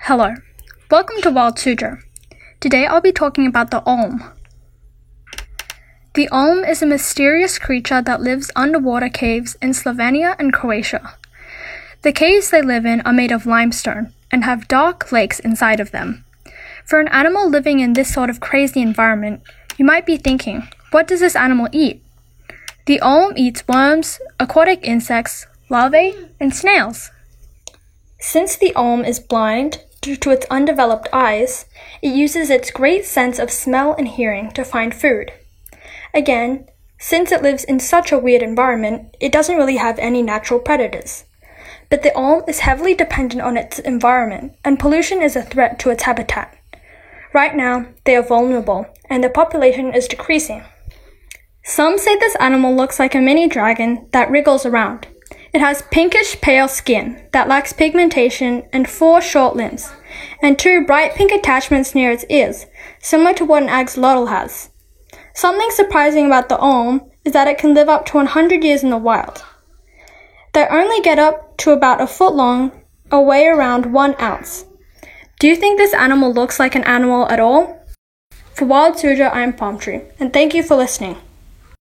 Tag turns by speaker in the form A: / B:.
A: Hello, welcome to Wild Suzhou. Today I'll be talking about the Olm. The Olm is a mysterious creature that lives underwater caves in Slovenia and Croatia. The caves they live in are made of limestone and have dark lakes inside of them. For an animal living in this sort of crazy environment, you might be thinking, what does this animal eat? The Olm eats worms, aquatic insects, larvae, and snails. Since the Olm is blind due to its undeveloped eyes, it uses its great sense of smell and hearing to find food. Again, since it lives in such a weird environment, it doesn't really have any natural predators. But the Olm is heavily dependent on its environment, and pollution is a threat to its habitat. Right now, they are vulnerable, and their population is decreasing. Some say this animal looks like a mini dragon that wriggles around. It has pinkish pale skin that lacks pigmentation and 4 short limbs, and 2 bright pink attachments near its ears, similar to what an axolotl has. Something surprising about the Olm is that it can live up to 100 years in the wild. They only get up to about a foot long, or weigh around 1 ounce. Do you think this animal looks like an animal at all? For Wild Suzhou, I'm Palm Tree, and thank you for listening.